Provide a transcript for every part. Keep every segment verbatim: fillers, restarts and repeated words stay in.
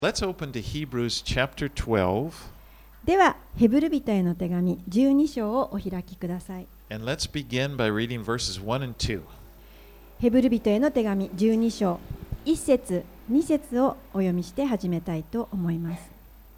Let's open to Hebrews chapter twelve. では、ヘブル人への手紙じゅうに章をお開きください。 And let's begin by reading verses one and two. ヘブル人への手紙じゅうに章、いち節、に節をお読みして始めたいと思います。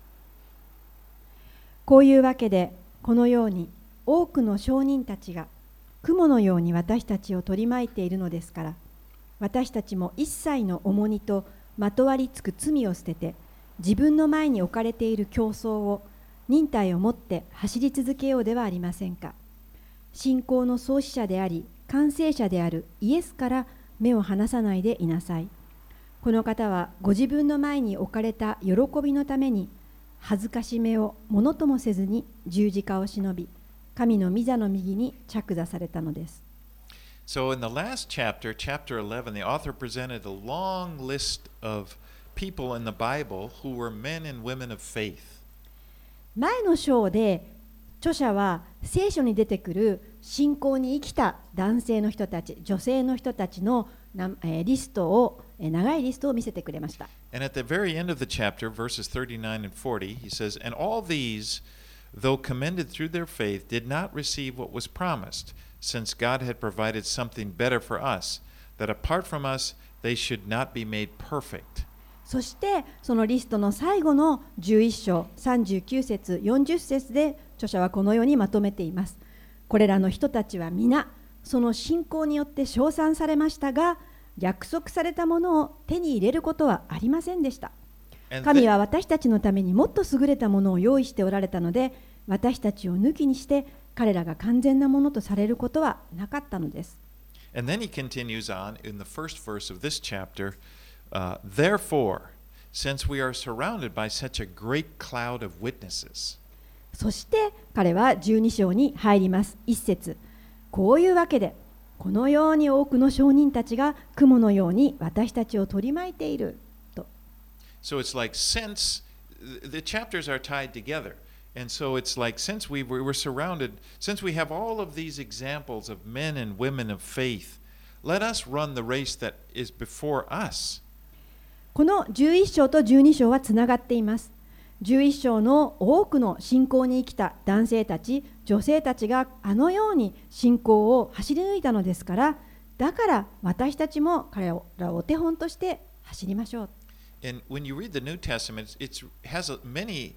こういうわけで、このように多くの証人たちが雲のように私たちを取り巻いているのですから、私たちも一切の重荷とまとわりつく罪を捨てて、自分の前に置かれている競争を忍耐を持って走り続けようではありませんか。信仰の創始者であり完成者であるイエスから目を離さないでいなさい。この方はご自分の前に置かれた喜びのために恥ずかしめをものともせずに十字架を忍び、神の御座の右に着座されたのです。 So, in the last chapter, chapter eleven, the author presented a long list of people in the Bible who were men and women of faith. 前の章で著者は聖書に出てくる信仰に生きた男性の人たち、女性の人たちのリストを、長いリストを見せてくれました。 And at the very end of the chapter, verses thirty-nine and forty, he says, And all these, though commended through their faith, did not receive what was promised, since God had provided something better for us, that apart from us, they should not be made perfect. そしてそのリストの最後のじゅういち章さんじゅうきゅう節よんじゅう節で著者はこのようにまとめています。これらの人たちは皆その信仰によって称賛されましたが、約束されたものを手に入れることはありませんでした。神は私たちのためにもっと優れたものを用意しておられたので、私たちを抜きにして彼らが完全なものとされることはなかったのです。 And then he continues on in the first verse of this chapter, uh, Therefore, since we are surrounded by such a great cloud of witnesses. そして彼はじゅうに章に入ります。一節、こういうわけで、このように多くの証人たちが雲のように私たちを取り巻いていると。 So it's like since the chapters are tied together. And so it's like since we were, we were surrounded, since we have all of these examples of men and women of faith, let us run the race that is before us. このじゅういち章とじゅうに章はつながっています。じゅういち章の多くの信仰に生きた男性たち、女性たちがあのように信仰を走り抜いたのですから、だから私たちも彼らをお手本として走りましょう。 And when you read the New Testament, it has many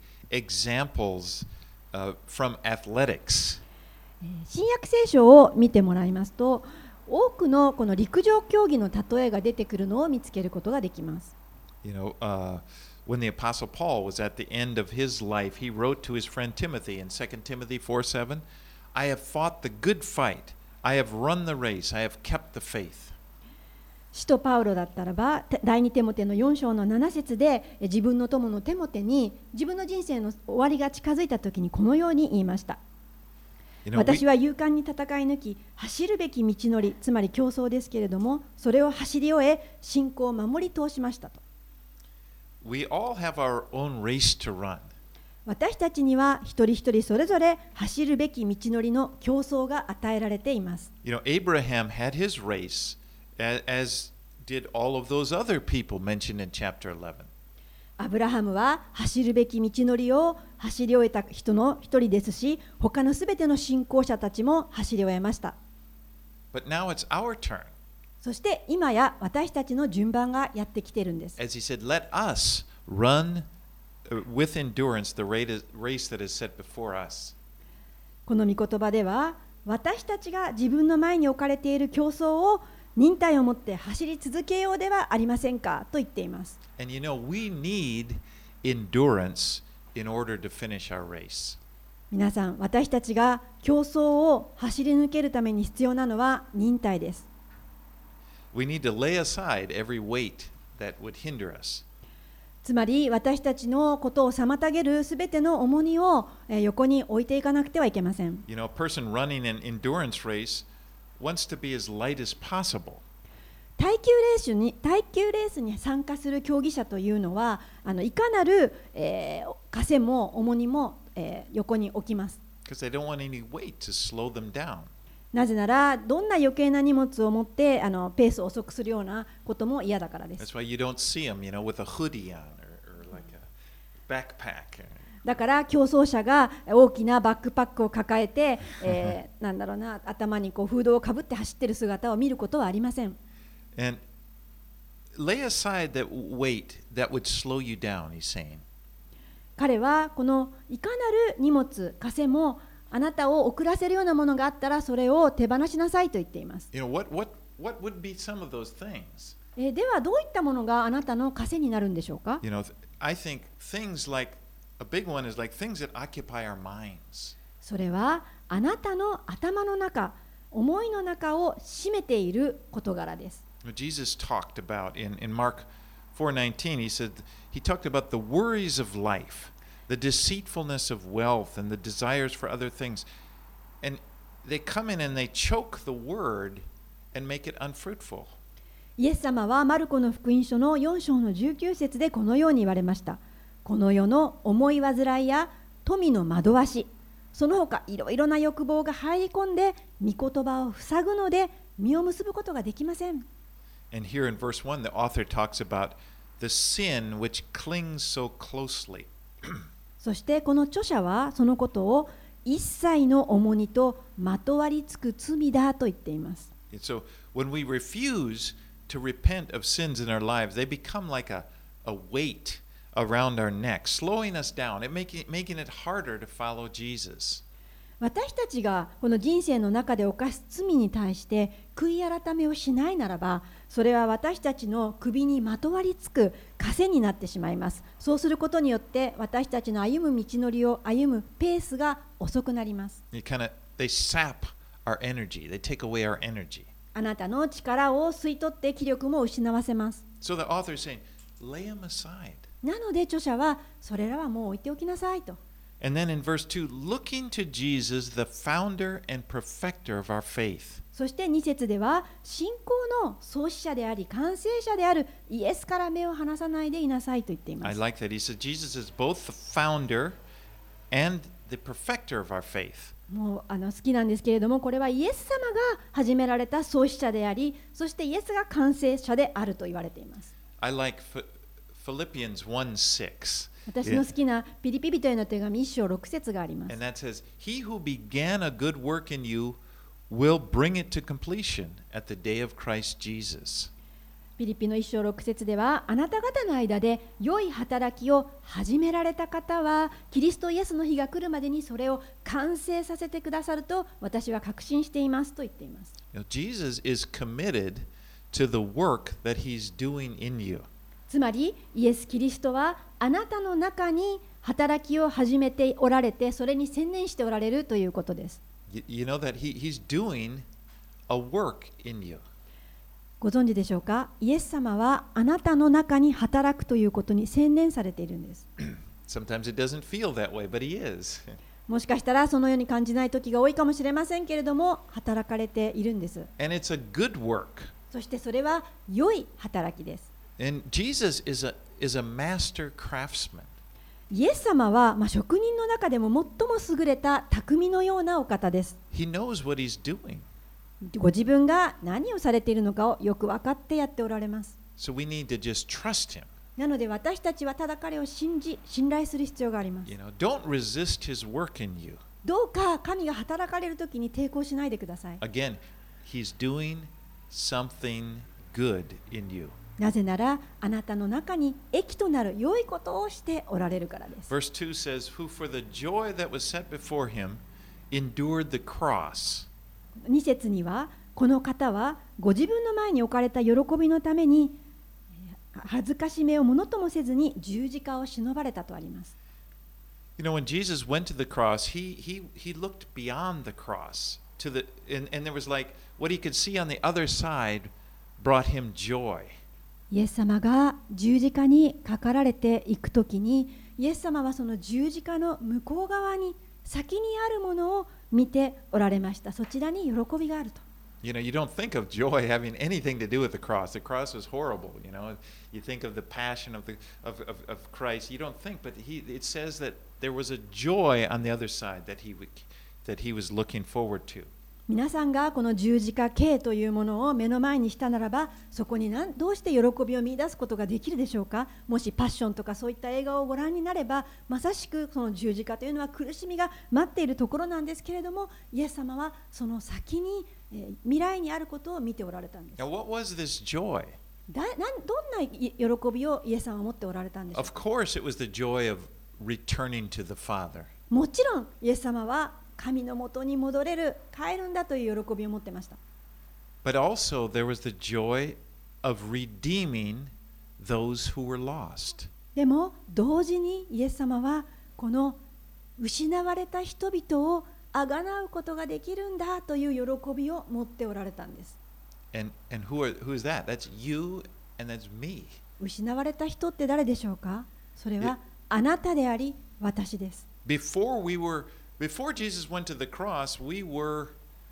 examples uh, from athletics. 新約聖書を見てもらいますと、多くのこの陸上競技の例えが出てくるのを見つけることができます。 You know, uh, when the Apostle Paul was at the end of his life, he wrote to his friend Timothy in Second Timothy four seven, I have fought the good fight, I have run the race, I have kept the faith. 使徒パウロだったらば、第二テモテのよん章のなな節で自分の友のテモテに自分の人生の終わりが近づいた時にこのように言いました。You know, 私は勇敢に戦い抜き、走るべき道のり、つまり競争ですけれども、それを走り終え、信仰を守り通しましたと。 We all have our own race to run. 私たちには一人一人それぞれ走るべき道のりの競争が与えられています。 You know, Abraham had his race.As did all of those other people mentioned in chapter eleven. アブラハムは走るべき道のりを走り終えた人の一人ですし、他のすべての信仰者たちも走り終えました。 But now it's our turn. そして今や私たちの順番がやってきているんです。 As he said, let us run with endurance the race that is set before us. この御言葉では、私たちが自分の前に置かれている競争を忍耐を持って走り続けようではありませんかと言っています。 And you know, we need endurance in order to finish our race. 皆さん、私たちが競争を走り抜けるために必要なのは忍耐です。 We need to lay aside every weight that would hinder us. つまり私たちのことを妨げるすべての重荷を横に置いていかなくてはいけません。 You know, a person running an endurance race wants to be as light as possible. 耐久レースに耐久レースに参加する競技者というのは、あのいかなる、えー、枷も重荷も、えー、横に置きます。 Because they don't want any weight to slow them down. なぜなら、どんな余計な荷物を持ってあのペースを遅くするようなことも嫌だからです。 That's why you don't see them, you know, with a hoodie on or, or like backpack. だから競争者が大きなバックパックを抱えて、えー、なんだろうな、頭にこうフードをかぶって走っている姿を見ることはありません。 And lay aside that weight that would slow you down, he's saying. 彼はこのいかなる荷物、枷もあなたを遅らせるようなものがあったらそれを手放しなさいと言っています。 You know, what, what, what would be some of those things? えー、ではどういったものがあなたの枷になるんでしょうか？ You know, I think things like, a big one is like things that occupy our minds. それはあなたの頭の中、思いの中を占めている事柄です。 Jesus talked about in, in Mark four nineteen, he said, he talked about the worries of life, the deceitfulness of wealth, and the desires for other things. And they come in and they choke the word and make it unfruitful. イエス様はマルコの福音書のよん章のじゅうきゅう節でこのように言われました。この世の思い煩いや富の惑わし、その他いろいろな欲望が入り込んで御言葉を塞ぐので実を結ぶことができません。 And here in verse one, the author talks about the sin which clings so closely. そしてこの著者はそのことを一切の重荷とまとわりつく罪だと言っています。 And so when we refuse to repent of sins in our lives, they become like a, a weight around our neck, slowing us down and making, making it harder to follow Jesus. 私たちがこの人生の中で犯す罪に対して悔い改めをしないならば、それは私たちの首にまとわりつく枷になってしまいます。そうすることによって私たちの歩む道のりを歩むペースが遅くなります。 You kind of, they sap our energy, they take away our energy. あなたの力を吸い取って気力も失わせます。 So the author is saying, lay them aside. なので著者はそれらはもう置いておきなさいと。 And then in verse two, looking to Jesus, the founder and perfecter of our faith. そしてに節では信仰の創始者であり完成者であるイエスから目を離さないでいなさいと言っていま I す。 like that. He said Jesus is both the founder and the perfecter of our faith. もうあの好きなんですけれども、これはイエス様が始められた創始者であり、そしてイエスが完成者であると言われています。 I like Philippians one six. 私の好きなピリピ人への手紙いち章ろく節があります。 And that says, He who began a good work in you will bring it to completion at the day of Christ Jesus. ピリピのいち章ろく節では、あなた方の間で良い働きを始められた方は、キリストイエスの日が来るまでにそれを完成させてくださると私は確信していますと言っています。 You know, Jesus is committed to the work that He's doing in you. つまりイエス・キリストはあなたの中に働きを始めておられて、それに専念しておられるということです。 You, you know that he, He's doing a work in you. ご存知でしょうか？イエス様はあなたの中に働くということに専念されているんです。 Sometimes it doesn't feel that way, but He is. もしかしたらそのように感じない時が多いかもしれませんけれども、働かれているんです。 And it's a good work. そしてそれは良い働きです。 And Jesus is a, is a master craftsman. イエス様は、まあ、職人の中でも最も優れた匠のようなお方です。 He knows what He's doing. ご自分が何をされているのかをよく分かってやっておられます。 So we need to just trust Him. なので私たちはただ彼を信じ、信頼する必要があります。 You know, don't resist His work in you. どうか神が働かれるときに抵抗しないでください。 Again, He's doing something good in you. なぜならあなたの中に益となる良いことをしておられるからです。 Verse two says, Who for the joy that was set before Him endured the cross. に節には、この方はご自分の前に置かれた喜びのために恥ずかしめをものともせずに十字架を忍ばれたとあります。 You know, when Jesus went to the cross, he, he, he looked beyond the cross to the, and, and there was like what he could see on the other side brought him joy. イエス様が十字架にかかられていくときに、イエス様はその十字架の向こう側に先にあるものを見ておられました。そちらに喜びがあると。 You know, you don't think of joy having anything to do with the cross. The cross was horrible, you know. You think of the passion of, the, of, of, of Christ. You don't think, but he, it says that there was a joy on the other side that he, that he was looking forward to. 皆さんがこの十字架刑というものを目の前にしたならば、そこに何どうして喜びを見出すことができるでしょうか。もしパッションとかそういった映画をご覧になれば、まさしくその十字架というのは苦しみが待っているところなんですけれども、イエス様はその先に、えー未来にあることを見ておられたんです。 Now, what was this joy? だなんどんな喜びをイエス様は持っておられたんでしょう Of か。 course, it was the joy of returning to the Father. もちろんイエス様は神のもとに戻れる、帰るんだという喜びを持ってました。 But also, there was the joy of redeeming those who were lost. でも同時にイエス様はこの失われた人々をあがなうことができるんだという喜びを持っておられたんです。 And, and who, are, who is that? That's you and that's me. 失われた人って誰でしょうか。それはあなたであり私です。 Before we were, before Jesus went to the cross, we were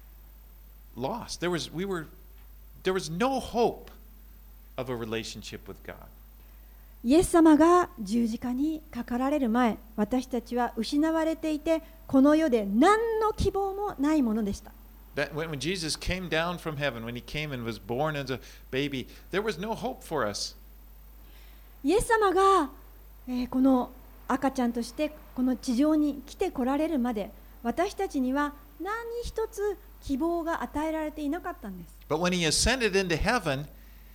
lost. There was, we were, there was no hope of a relationship with God. イエス様が十字架にかかられる前、私たちは失われていて、この世で何の希望もないものでした。 That when, when Jesus came down from heaven, when he came and was born as a baby, there was no hope for us. イエス様が、えーこの赤ちゃんとしてこの地上に来てこられるまで、私たちには何一つ希望が与えられていなかったんです。 But when he ascended into heaven,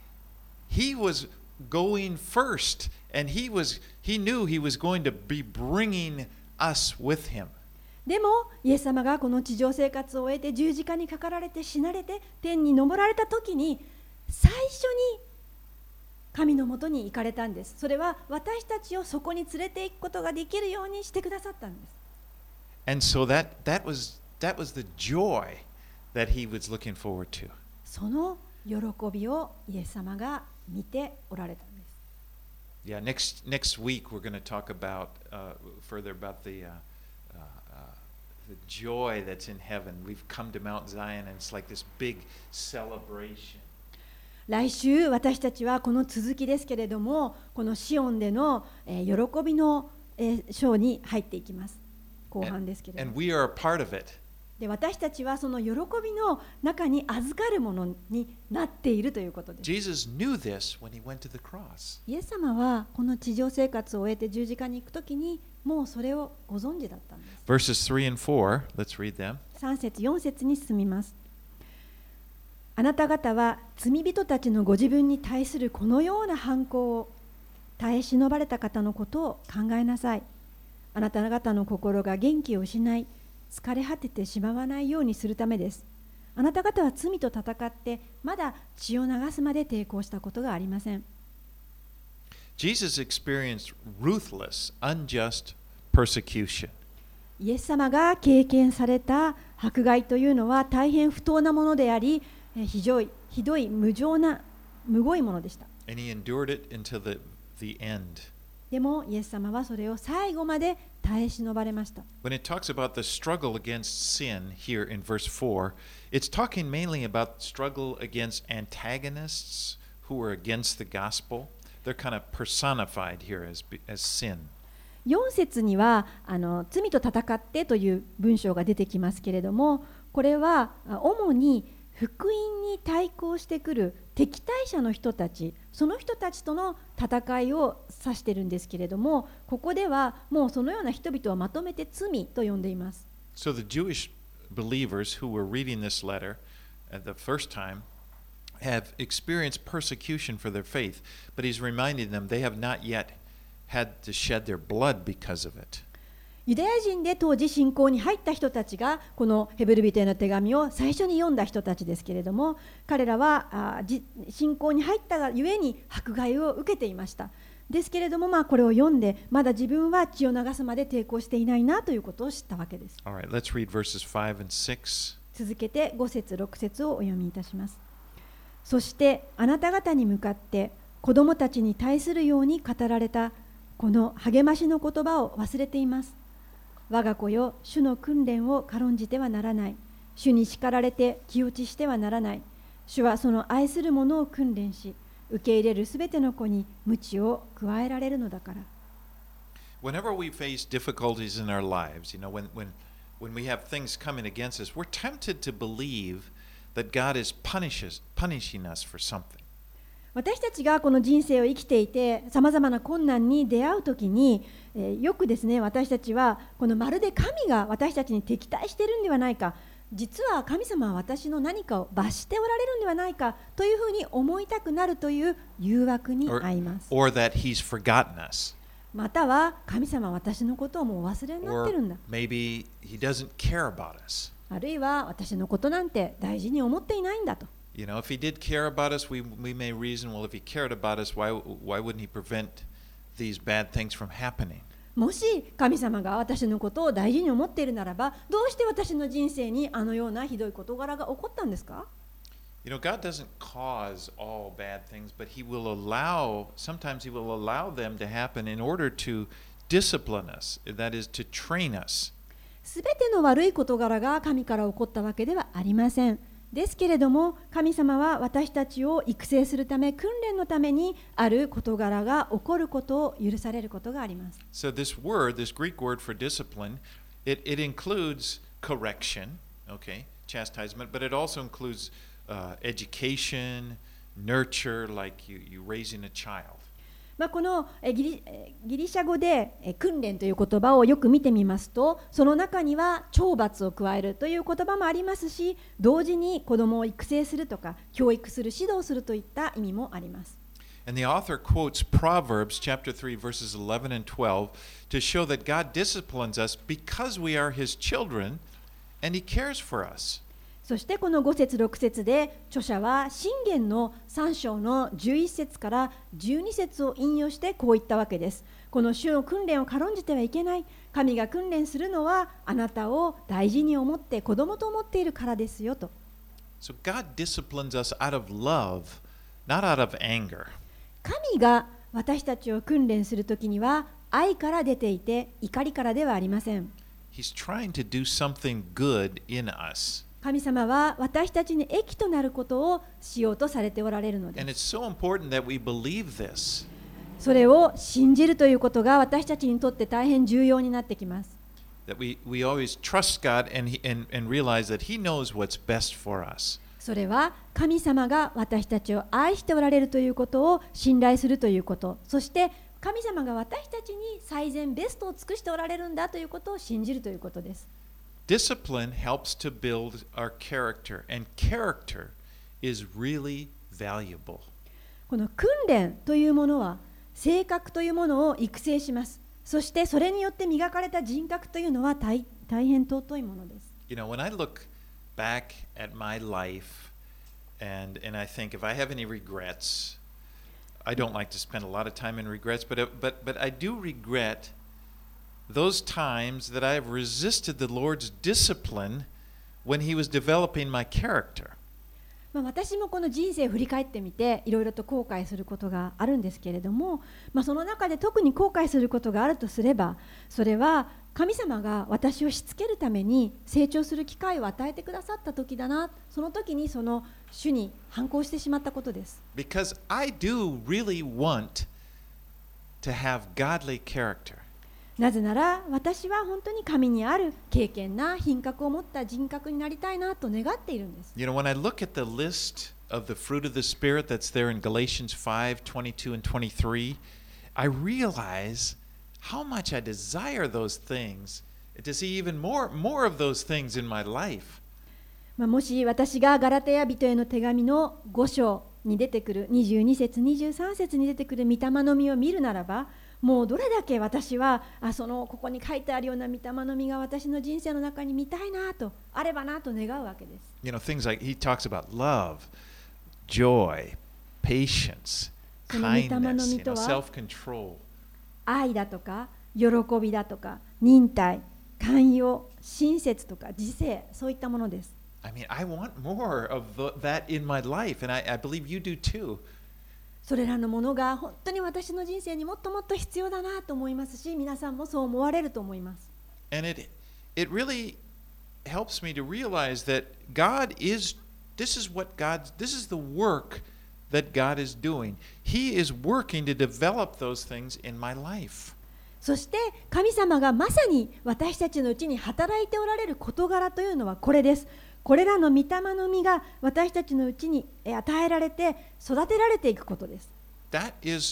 he was going first, and he was he knew he was going to be bringing us with him. でもイエス様がこの地上生活を終えて十字架にかかられて死なれて天に昇られた時に、最初に神のもとに行かれたんです。それは私たちをそこに連れて行くことができるようにしてくださったんです。 And so that that was that was the joy that he was looking forward to. その喜びをイエス様が見ておられたんです。 Yeah, next next week we're going to talk about uh, further about the uh, uh, uh, the joy that's in heaven. We've come to Mount Zion, and it's like this big celebration. 来週私たちはこの続きですけれども、このシオンでの、えー喜びの、えー章に入っていきます。後半ですけれど And も。 we are a part of it. で私たちはその喜びの中に預かるものになっているということです。 Jesus knew this when he went to the cross. イエス様はこの地上生活を終えて十字架に行くときにもうそれをご存知だったんです。 Verses three and four, let's read them. さん節よん節に進みます。あなた方は罪人たちのご自分に対するこのような犯行を耐え忍ばれた方のことを考えなさい。あなた方の心が元気を失い疲れ果ててしまわないようにするためです。あなた方は罪と戦ってまだ血を流すまで抵抗したことがありません。 Jesus experienced ruthless, unjust persecution. イエス様が経験された迫害というのは大変不当なものであり、えーひどい、ひどい無情なむごいものでした。 And he endured it until the, the end. でもイエス様はそれを最後まで耐え忍ばれました。 When it talks about the struggle against sin here in verse four, it's talking mainly about struggle against antagonists who are against the gospel. They're kind of personified here as, as sin. よん節にはあの罪と戦ってという文章が出てきますけれども、これはあ主に福音に対抗してくる敵対者の人たち、その人たちとの戦いを指しているんですけれども、ここではもうそのような人々をまとめて罪と呼んでいます。 So the Jewish believers who were reading this letter at the first time have experienced persecution for their faith, but he's reminding them they have not yet had to shed their blood because of it. ユダヤ人で当時信仰に入った人たちがこのヘブル人への手紙を最初に読んだ人たちですけれども、彼らはあじ信仰に入ったがゆえに迫害を受けていました。ですけれども、まあ、これを読んでまだ自分は血を流すまで抵抗していないなということを知ったわけです。 All right, let's read verses five and six. 続けてご節ろく節をお読みいたします。そしてあなた方に向かって子供たちに対するように語られたこの励ましの言葉を忘れています。我が子よ、主の訓練を軽んじてはならない。主に叱られて気落ちしてはならない。主はその愛する者を訓練し、受け入れるすべての子に鞭を加えられるのだから。 Whenever we face difficulties in our lives, you know, when, when when we have things coming against us, we're tempted to believe that God is punishes, punishing us for something. 私たちがこの人生を生きていてさまざまな困難に出会うときに、えーよくですね私たちはこのまるで神が私たちに敵対しているんではないか、実は神様は私の何かを罰しておられるんではないかというふうに思いたくなるという誘惑に Or, 遭います。 or that He's forgotten us. または神様は私のことをもうお忘れになってるん Or だ。 maybe He doesn't care about us. あるいは私のことなんて大事に思っていないんだと。 You know, if He did care about us, we, we may reason, well, if He cared about us, why, why wouldn't He prevent these bad things from happening? もし神様が私のことを大事に思っているならば、どうして私の人生にあのようなひどい事柄が起こったんですか？ You know, God doesn't cause all bad things, but He will allow, sometimes He will allow them to happen in order to discipline us, that is, to train us. すべての悪い事柄が神から起こったわけではありません。ですけれども、神様は私たちを育成するため、訓練のためにある事柄が起こることを許されることがあります。 So this word, this Greek word for discipline, it, it includes correction, okay, chastisement, but it also includes uh, education, nurture, like you, you raising a child. まあ、このえギリえギリシャ語でえ訓練という言葉をよく見てみますと、その中には懲罰を加えるという言葉もありますし、同時に子供を育成するとか教育する、指導するといった意味もあります。 And the author quotes Proverbs chapter three, verses eleven and twelve to show that God disciplines us because we are His children and He cares for us. そしてこのご節ろく節で著者は箴言のさん章のじゅういち節からじゅうに節を引用してこう言ったわけです。この主の訓練を軽んじてはいけない。神が訓練するのはあなたを大事に思って子供と思っているからですよと。 So God disciplines us out of love, not out of anger. 神が私たちを訓練するときには愛から出ていて怒りからではありません。 He's trying to do something good in us. 神様は私たちに益となることをしようとされておられるので And す。 it's so important that we believe this. それを信じるということが私たちにとって大変重要になってきます。 That we, we always trust God and, he, and, and realize that He knows what's best for us. それは神様が私たちを愛しておられるということを信頼するということ、そして神様が私たちに最善ベストを尽くしておられるんだということを信じるということです。 Discipline helps to build our character, and character is really valuable. この訓練というものは性格というものを育成します。そしてそれによって磨かれた人格というのは 大, 大変尊いものです。 You know, when I look back at my life and, and I think if I have any regrets, I don't like to spend a lot of time in regrets, but, but, but I do regret those times that I have resisted the Lord's discipline when He was developing my character. まあ私もこの人生を振り返ってみていろいろと後悔することがあるんですけれども、まあ、その中で特に後悔することがあるとすれば、それは神様が私をしつけるために成長する機会を与えてくださった時だな、その時にその主に反抗してしまったことです。 Because I do really want to have godly character. なぜなら私は本当に神にある敬虔な品格を持った人格になりたいなと願っているんです。 You know, when I look at the list of the fruit of the Spirit that's there in Galatians five, twenty-two and twenty-three, I realize how much I desire those things, to see even more, more of those things in my life. まあもし私がガラテヤ人への手紙のご章に出てくるにじゅうに節、にじゅうさん節に出てくる御霊の実を見るならば、もうどれだけ私はあそのここに書いてあるような御霊の実が私の人生の中に見たいなと、あればなと願うわけです。 You know, things like he talks about love, joy, patience, その御霊の kindness, 実 you と know, は self-control. 愛だとか喜びだとか忍耐、寛容、親切とか自制、そういったものです。 I mean, I want more of the, that in my life, and I, I believe you do too. それらのものが本当に私の人生にもっともっと必要だなと思いますし、皆さんもそう思われると思います。 And it, it really helps me to realize that God is, this is what God, this is the work that God is doing. He is working to develop those things in my life. そして神様がまさに私たちのうちに働いておられる事柄というのはこれです。これらの御霊の実が私たちのうちに与えられて育てられていくことです。 That is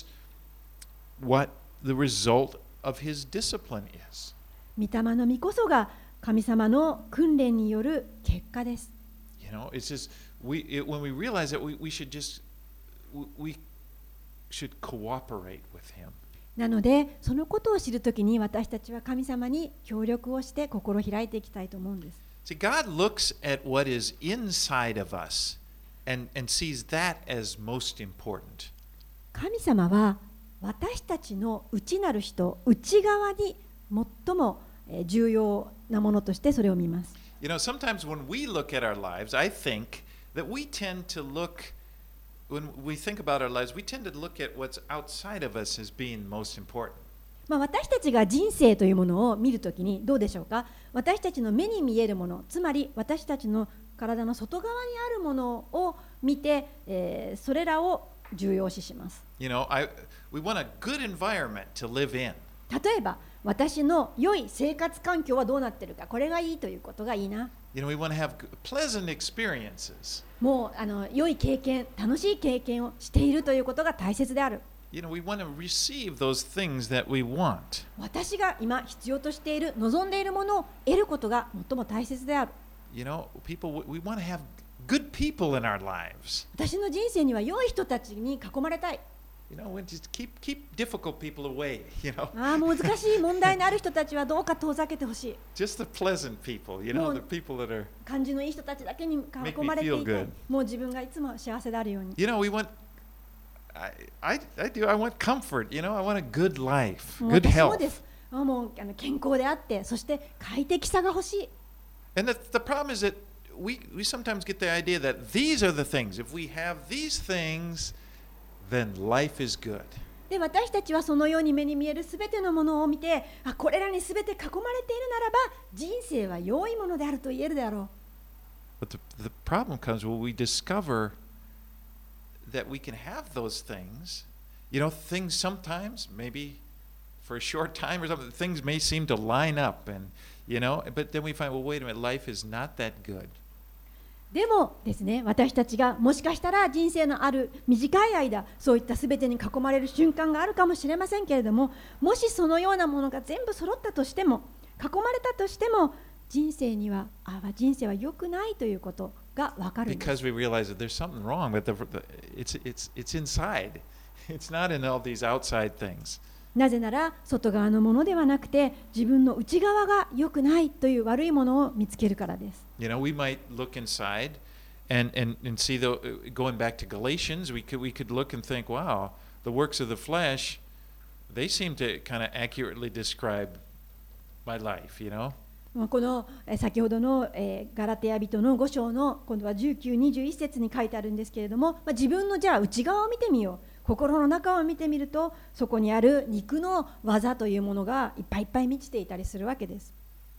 what the result of his discipline is. 御霊の実こそが神様の訓練による結果です。 You know, it's just we it, when we realize that we, we should just we, we should cooperate with him. なので、そのことを知るときに私たちは神様に協力をして心を開いていきたいと思うんです。 See, God looks at what is inside of us and, and sees that as most important. 神様は私たちの内なる人、内側に最も重要なものとしてそれを見ます。 You know, sometimes when we look at our lives, I think that we tend to look, when we think about our lives, we tend to look at what's outside of us as being most important. まあ私たちが人生というものを見るときにどうでしょうか。私たちの目に見えるもの、つまり私たちの体の外側にあるものを見て、えー、それらを重要視します。 You know, I, we want a good environment to live in. 例えば、私の良い生活環境はどうなっているか、これがいいということがいいな。 You know, we want to have pleasant experiences. もうあの良い経験、楽しい経験をしているということが大切である。 You know, we want to receive those things that we want. 私が今必要としている、望んでいるものを得ることが最も大切である。 You know, people, we want to have good people in our lives. 私の人生には良い人たちに囲まれたい。 You know, we just keep keep difficult people away. You know, ああ、難しい問題のある人たちはどうか遠ざけてほしい。 just the pleasant people. You know, the people that are. 感じのいい人たちだけに囲まれていたい。もう自分がいつも幸せであるように。 You know, we want. I, I, I do. I want comfort. You know, I want a good life, good 私も health. です。あもうあの健康であって、そして快適さが欲しい。 And the, the problem is that we, we sometimes get the idea that these are the things. If we have these things, then life is good. で私たちはそのように目に見えるすべてのものを見て、あこれらにすべて囲まれているならば人生は良いものであると言えるであろう。 But the, the problem comes when we discover that we can have those things. You know, things sometimes, maybe for a short time or something, things may seem to line up, and you know, but then we find, well, wait a minute, life is not that good. でもですね、私たちがもしかしたら人生のある短い間、そういったすべてに囲まれる瞬間があるかもしれませんけれども、もしそのようなものが全部揃ったとしても、囲まれたとしても、人生には、あ人生は良くないということが分かるんです。 Because we realize that there's something wrong with the, the it's it's it's inside. It's not in all these outside things. なぜなら外側のものではなくて自分の内側が良くないという悪いものを見つけるからです。 You know, we might look inside and and and see the going back to Galatians, we could we could look and think, wow, the works of the flesh, they seem to kind of accurately describe my life, you know. この先ほどのガラテヤ人のご章の今度はじゅうきゅう、にじゅういち節に書いてあるんですけれども、自分のじゃあ内側を見てみよう。心の中を見てみると、そこにある肉の技というものがいっぱいいっぱい満ちていたりするわけです。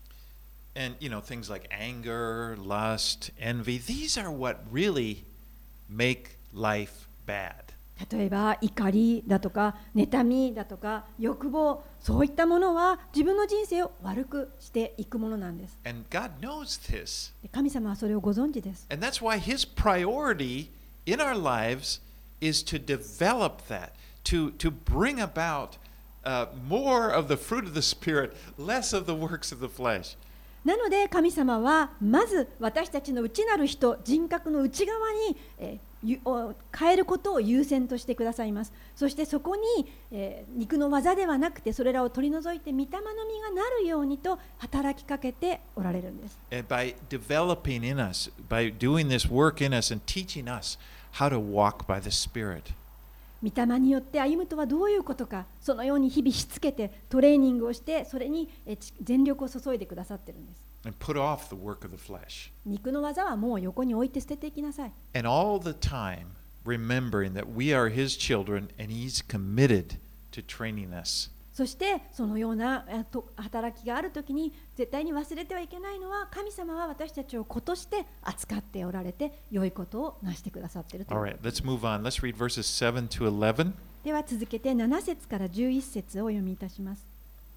And you know, things like anger, lust, envy, these are what really make life bad. 例えば怒りだとか妬みだとか欲望、そういったものは自分の人生を悪くしていくものなんです。 And God knows this. 神様はそれをご存知です。 And that's why His priority in our lives is to develop that, to, to bring about uh, more of the fruit of the Spirit, less of the works of the flesh. なので神様はまず私たちの内なる人、人格の内側に、えー、変えることを優先としてくださいます。そしてそこに、えー、肉の技ではなくてそれらを取り除いて御霊の実がなるようにと働きかけておられるんです。 And by developing in us, by doing this work in us and teaching us how to walk by the Spirit. 御霊によって歩むとはどういうことか、そのように日々しつけてトレーニングをしてそれに全力を注いでくださっているんです。 And put off the work of the flesh. 肉の技はもう横に置いて捨てていきなさい。 And all the time remembering that we are His children and He's committed to training us. そしてそのような働きがあるときに絶対に忘れてはいけないのは、神様は私たちを子として扱っておられて良いことをなしてくださっているという。 All right, let's move on. Let's read verses seven to eleven. では続けてなな節からじゅういち節をお読みいたします。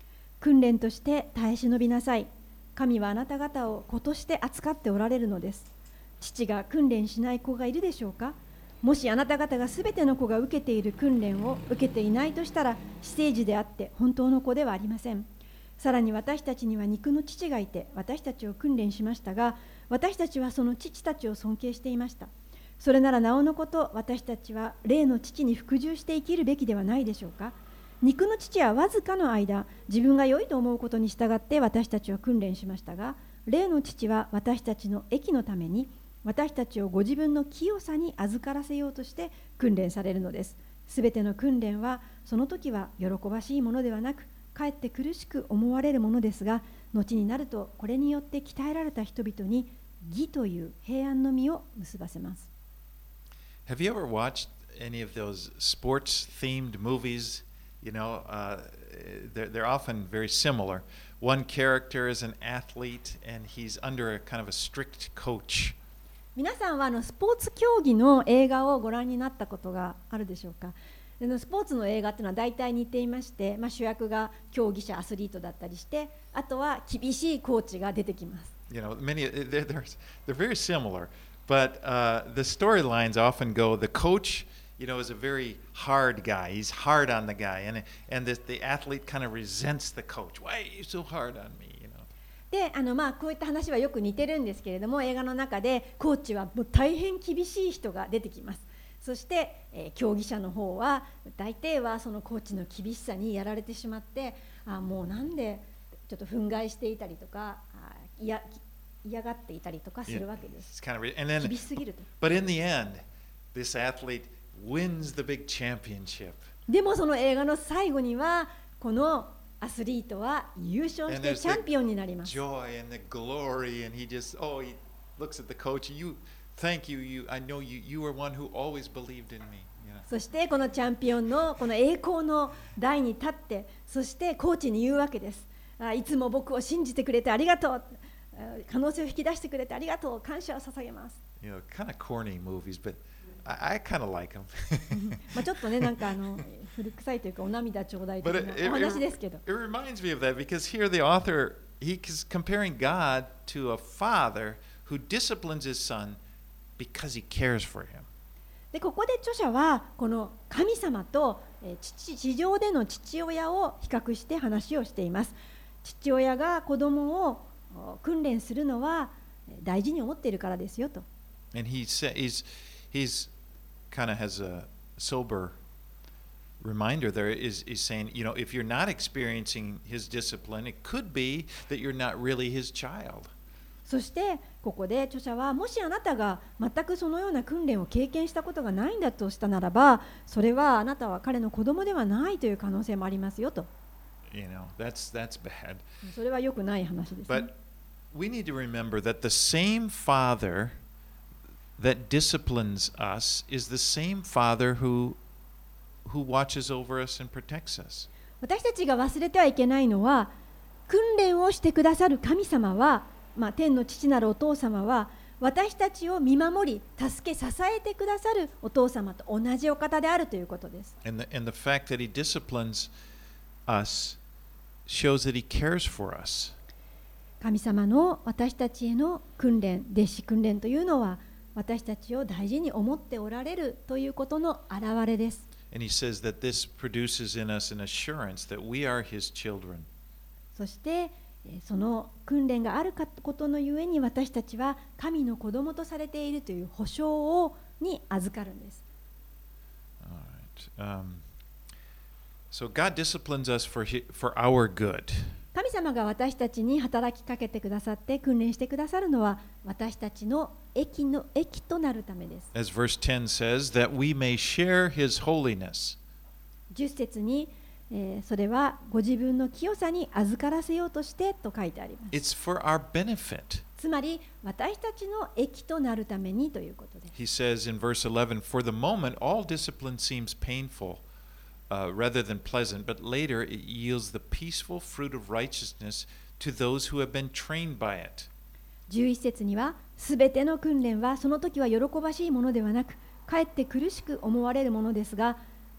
訓練として耐え忍びなさい。神はあなた方を子として扱っておられるのです。父が訓練しない子がいるでしょうか。もしあなた方がすべての子が受けている訓練を受けていないとしたら、私生児であって本当の子ではありません。さらに私たちには肉の父がいて、私たちを訓練しましたが、私たちはその父たちを尊敬していました。それならなおのこと、私たちは霊の父に服従して生きるべきではないでしょうか。肉の父はわずかの間、自分が良いと思うことに従って私たちは訓練しましたが、霊の父は私たちの益のために、私たちをご自分の清さに預からせようとして訓練されるのです。すべての訓練は、その時は喜ばしいものではなく、かえって苦しく思われるものですが、後になるとこれによって鍛えられた人々に義という平安の実を結ばせます。 Have you ever watched any of those sports-themed movies? You know, uh, they're, they're often very similar. One character is an athlete, and he's under a kind of a strict coach. 皆さんはあのスポーツ競技の映画をご覧になったことがあるでしょうか。スポーツの映画っていうのは大体似ていまして、まあ、主役が競技者、アスリートだったりして、あとは厳しいコーチが出てきます。 You know, many they're they're, they're very similar, but uh, the storylines often go. The coach, you know, is a very hard guy. He's hard on the guy, and and the, the athlete kind of resents the coach. Why are you so hard on me? You know. で、あのまあこういった話はよく似てるんですけれども、映画の中でコーチはもう大変厳しい人が出てきます。そして、えー、競技者の方は大抵はそのコーチの厳しさにやられてしまって、あもうなんでちょっと憤慨していたりとか、あいや嫌がっていたりとかするわけです。 Kind of, and then, 厳しすぎると。 but in the end, this athlete wins the big championship. でもその映画の最後にはこのアスリートは優勝してチャンピオンになります。 Joy and the glory, and he just oh he looks at the coach. You thank you. You I know you. You were one who always believed in me. You know? そしてこのチャンピオンのこの栄光の台に立って、そしてコーチに言うわけです。あいつも僕を信じてくれてありがとう。可能性を引き出してくれてありがとう。感謝を捧げます。 You know, kind of corny movies, but I, I kind of like them. まあちょっとねなんかあの古臭いというかお涙ちょうだいとい But う it, お it, 話ですけど。 it reminds me of that because here the author he's comparing God to a father who disciplines his son because he cares for him. でここで著者はこの神様と父地上での父親を比較して話をしています。父親が子供を訓練するのは大事に思っているからですよと。 And he says he's he's kind of has a sober reminder there is is saying, you know, if you're not experiencing his discipline, it could be that you're not really his child. そしてここで著者はもしあなたが全くそのような訓練を経験したことがないんだとしたならば、それはあなたは彼の子供ではないという可能性もありますよと。 You know, that's that's bad. それは良くない話です、ね。 But we need to remember that the same father that disciplines us is the same father who who watches over us and protects us. 私たちが忘れてはいけないのは、訓練をしてくださる神様は、まあ、天の父なるお父様は私たちを見守り助け支えてくださるお父様と同じお方であるということです。 And the, and the fact that he disciplines us shows that he cares for us. 神様の私たちへの訓練、弟子訓練というのは私たちを大事に思っておられるということの表れです。 And he says that this produces in us an assurance that we are his children. そしてその訓練があることのゆえに私たちは神の子供とされているという保証をに預かるんです。 All right. Um, so God disciplines us for his, for our good. 神様が私たちに働きかけてくださって訓練してくださるのは私たちの益の益となるためです。 As verse ten says, that we may share his holiness. じゅっ節に、えー、それはご自分の清さに預からせようとしてと書いてあります。 It's for our benefit. つまり私たちの益となるためにということです。 He says in verse eleven, for the moment all discipline seems painful. Uh, rather than pleasant, but later it yields the peaceful fruit of righteousness to those who have been trained by it. じゅういち節には、すべての訓練はその時は喜ばしいものではなく、かえって苦しく思われるものですが、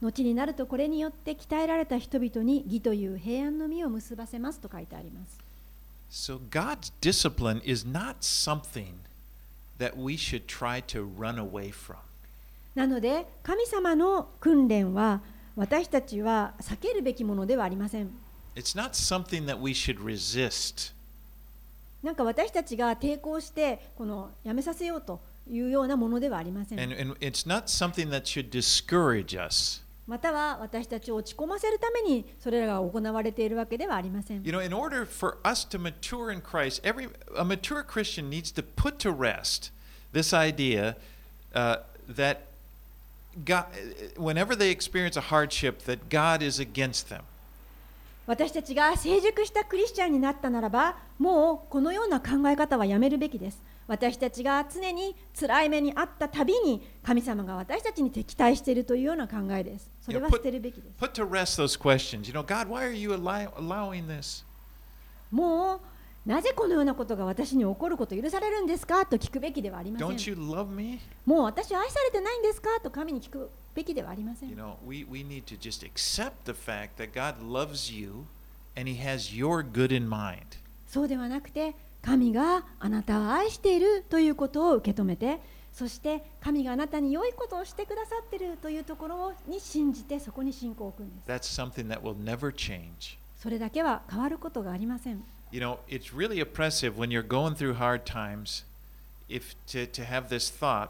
後になるとこれによって鍛えられた人々に義という平安の実を結ばせますと書いてあります。 So God's discipline is not something that we should try to run away from. なので神様の訓練は私たちは避けるべきものではありません。 It's not something that we should resist. なんか私たちが抵抗してこのやめさせようというようなものではありません。 And, and it's not something that should discourage us. または私たちを落ち込ませるためにそれらが行われているわけではありません。 You know, in order for us to mature in Christ, every a mature Christian needs to put to rest this idea uh, that God, whenever they experience a hardship, that God is against them. 私たちが成熟したクリスチャンになったならば、もうこのような考え方はやめるべきです。私たちが常に辛い目にあったたびに神様が私たちに敵対しているというような考えです。それは捨てるべきです。 Put to rest those questions. You know, God, why are you allow, allowing this? もうなぜこのようなことが私に起こること許されるんですかと聞くべきではありません。 Don't you love me? もう私は愛されてないんですかと神に聞くべきではありません。 You know, we, we need to just accept the fact that God loves you and He has your good in mind. そうではなくて、神があなたを愛しているということを受け止めて、そして神があなたに良いことをしてくださっているというところに信じて、そこに信仰を置くんです。 That's something that will never change. それだけは変わることがありません。 You know, it's really oppressive when you're going through hard times if to, to have this thought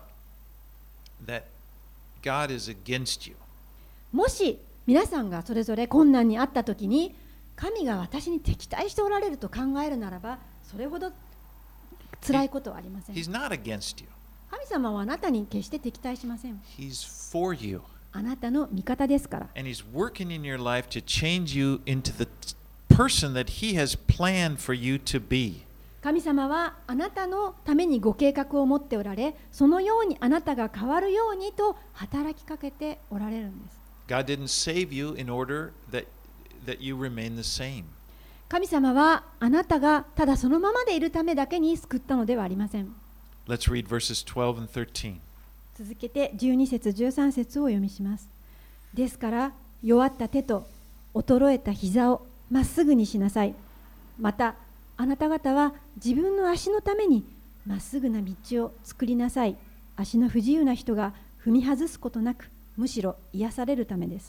that God is against you. もし皆さんがそれぞれ困難にあったときに、神が私に敵対しておられると考えるならば、それほど辛いことはありません。 He's not against you. 神様はあなたに決して敵対しません。 He's for you. あなたの味方ですから。 And He's working in your life to change you into the person that He has planned for you to be. 神様はあなたのためにご計画を持っておられ、そのようにあなたが変わるようにと働きかけておられるんです。 God didn't save you in order that, that you remain the same. 神様はあなたがただそのままでいるためだけに救ったのではありません。 Let's read verses twelve and thirteen. 続けてじゅうに節じゅうさん節をお読みします。ですから弱った手と衰えた膝をまっすぐにしなさい。またあなた方は自分の足のためにまっすぐな道を作りなさい。足の不自由な人が踏み外すことなく、むしろ癒されるためです。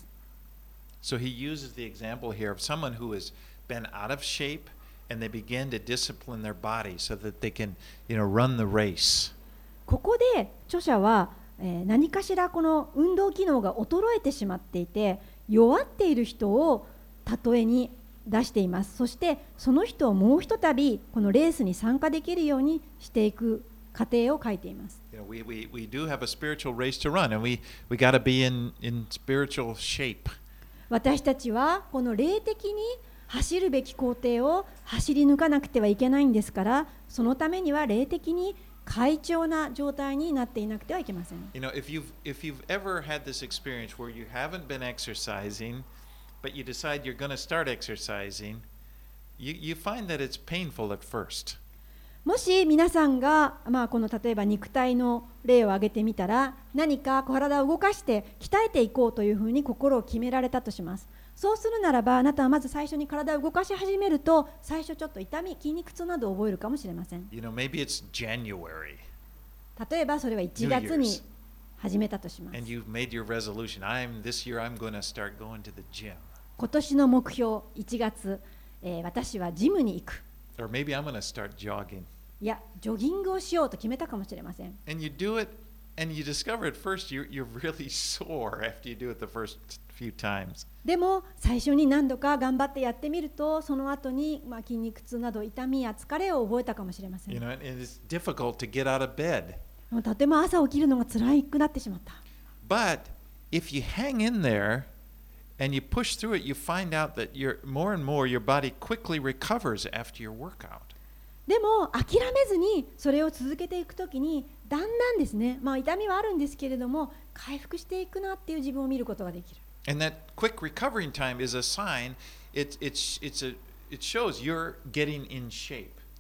So he uses the example here of someone who has been out of shape and they begin to discipline their body so that they can, you know, run the race. ここで著者は、えー何かしらこの運動機能が衰えてしまっていて、弱っている人を例えに出しています。そしてその人をもうひとたびこのレースに参加できるようにしていく過程を書いています。 You know, we, we, we do have a spiritual race to run and we, we got to be in, in spiritual shape. 私たちはこの霊的に走るべき工程を走り抜かなくてはいけないんですから、そのためには霊的に快調な状態になっていなくてはいけません。 You know, if you've, if you've ever had this experience where you haven't been exercising, but you decide you're going to start exercising, you, you find that it's painful at first. もし皆さんが、まあ、この例えば肉体の例を挙げてみたら、何か体を動かして鍛えていこうというふうに心を決められたとします。そうするならば、あなたはまず最初に体を動かし始めると、最初ちょっと痛み、筋肉痛などを覚えるかもしれません。 You know, maybe it's January 例えばそれはいちがつに始めたとします。 and you've made your resolution. I'm this year I'm going to start going to the gym. 今年の目標いちがつ、えー私はジムに行く。 Or maybe I'm going to start jogging. いや、ジョギングをしようと決めたかもしれません。 And you do it and you discover at first you're, you're really sore after you do it the first few times. でも最初に何度か頑張ってやってみると、その後にまあ筋肉痛など痛みや疲れを覚えたかもしれません。 You know, and it's difficult to get out of bed. もうとても朝起きるのが辛くなってしまった。 But if you hang in there and you push through it, you find out that you're more and more your body quickly recovers after your workout. でも諦めずにそれを続けていくときに、だんだんですね、まあ、痛みはあるんですけれども回復していくなっていう自分を見ることができる。 And that quick recovering time is a sign, it, it's, it's a, it shows you're getting in shape.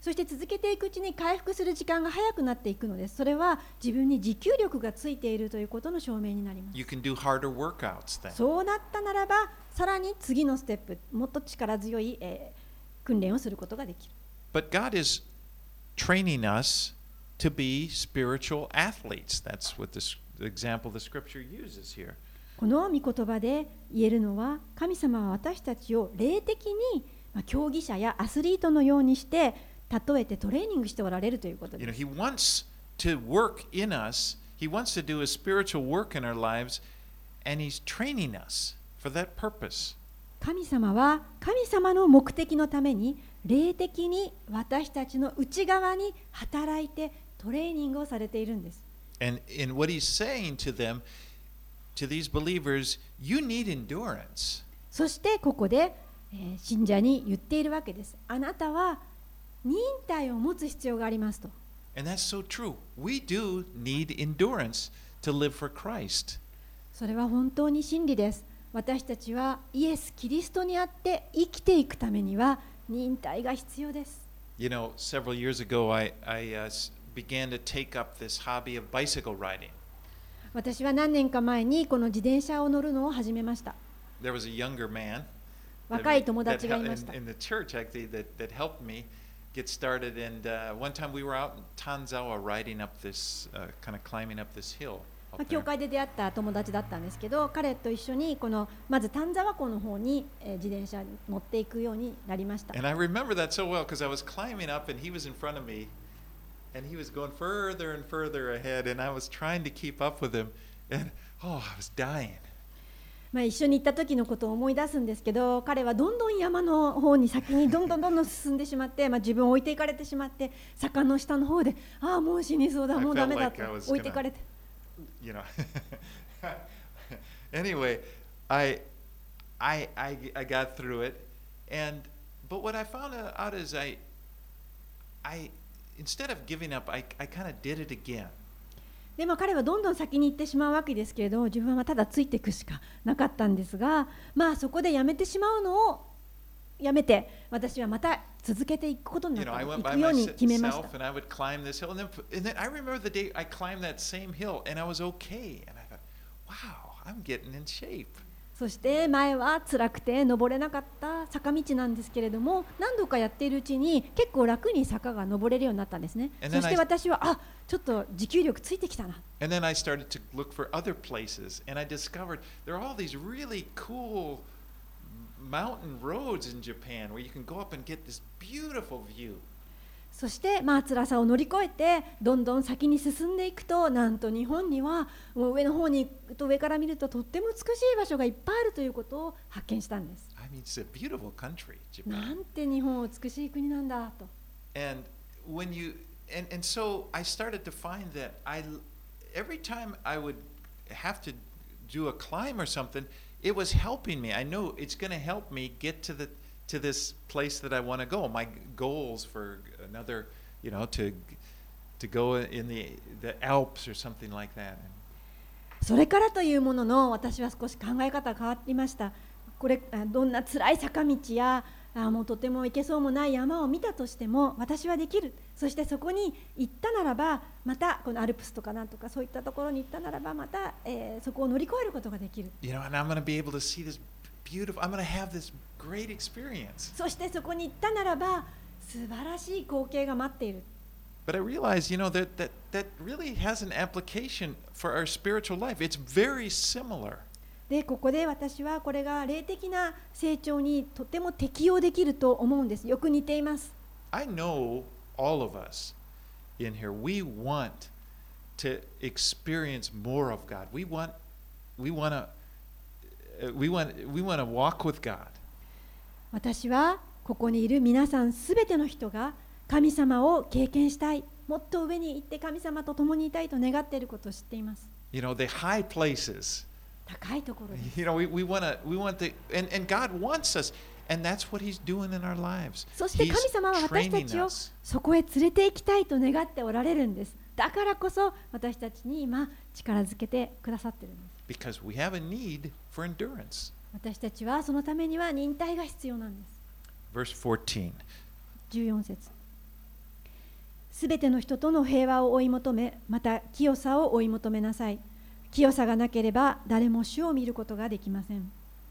そして続けていくうちに回復する時間が早くなっていくのです。それは自分に持久力がついているということの証明になります。 You can do harder workouts then. そうなったならば、さらに次のステップ、もっと力強い、えー、訓練をすることができる。 But God is training us to be spiritual athletes. That's what this, the example the scripture uses here. この御言葉で言えるのは、神様は私たちを霊的に競技者やアスリートのようにして例えてトレーニングしておられるということです。 You know, He wants to work in us. He wants to do a spiritual work in our lives, and He's training us for that purpose. 神様は神様の目的のために霊的に私たちの内側に働いてトレーニングをされているんです。 And in what He's saying to them, to these believers, you need endurance. そしてここで、えー、信者に言っているわけです。あなたは忍耐を持つ必要がありますと。 And that's so true. We do need endurance to live for Christ. それは本当に真理です。私たちはイエス・キリストにあって生きていくためには忍耐が必要です。 You know, several years ago, I, I uh, began to take up this hobby of bicycle riding. 私は何年か前にこの自転車を乗るのを始めました。 There was a younger man 若い友達がいました。 in, in the church actually that, that helped me get started. And uh, one time we were out in Tanzawa riding up this, uh, kind of climbing up this hill. 教会で出会った友達だったんですけど、彼と一緒にこのまず丹沢湖の方に自転車に乗っていくようになりました。 And I remember that so well because I was climbing up and he was in front of me and he was going further and further ahead and I was trying to keep up with him and oh, I was dying. まあ一緒に行った時のことを思い出すんですけど、彼はどんどん山の方に先にどんどんどんどん進んでしまって、まあ、自分を置いていかれてしまって、坂の下の方でああもう死にそうだ、もうダメだと置いていかれて。 You know. Anyway, I, I, I, I got through it, and but what I found out is I, I, instead of giving up, I, I kind of did it again. でまあ、彼はどんどん先に行ってしまうわけですけれども、自分はただついていくしかなかったんですが、まあそこでやめてしまうのをやめて、私はまた続けていくことになった、行くように決めました。 And I went by myself and I would climb this hill, and then, and then I remember the day I climbed that same hill, and I was okay, and I thought, wow, I'm getting in shape. そして前は辛くて登れなかった坂道なんですけれども、何度かやっているうちに結構楽に坂が登れるようになったんですね。そして私はあ、ちょっと持久力ついてきたな。 And then I started to look for other places, and I discovered there are all these really cool mountain roads in Japan where you can go up and get this beautiful view. そしてまあ辛さを乗り越えてどんどん先に進んでいくと、なんと日本にはもう上の方に行くと上から見るととっても美しい場所がいっぱいあるということを発見したんです。 I mean, it's a beautiful country, Japan. なんて日本は美しい国なんだと。 And when you and and so I started to find that I every time I would have to do a climb or something, it was helping me. I know it's going to help me get to the to this place that I want to go. My goals for another, you know, to to go in the the Alps or something like that. それからというものの、私は少し考え方が変わりました。これどんな辛い坂道やあもうとても行けそうもない山を見たとしても私はできる。そしてそこに行ったならば、またこのアルプスとかなんとかそういったところに行ったならば、また、えー、そこを乗り越えることができる。 You know, and I'm going to be able to see this beautiful. I'm going to have this great experience. そしてそこに行ったならば素晴らしい光景が待っている。 But I realized, you know, that that that really has an application for our spiritual life. It's very similar. でここで私はこれが霊的な成長にとても適用できると思うんです。よく似ています。 I know all of us in here, we want to experience more of God. We want, we want to, we want, we want to walk with God. 私はここにいる皆さんすべての人が神様を経験したい、もっと上に行って神様と共にいたいと願っていることを知っています。 You know, the high places. 高いところです。 You know, we, we want to, we want the, and, and God wants us, and that's what He's doing in our lives. そして神様は私たちをそこへ連れて行きたいと願っておられるんです。だからこそ私たちに今力づけてくださっているんです。 Because we have a need for endurance. 私たちはそのためには忍耐が必要なんです。 Verse fourteen. じゅうよん節。 すべての人との平和を追い求め、また清さを追い求めなさい。清さがなければ誰も主を見ることができません。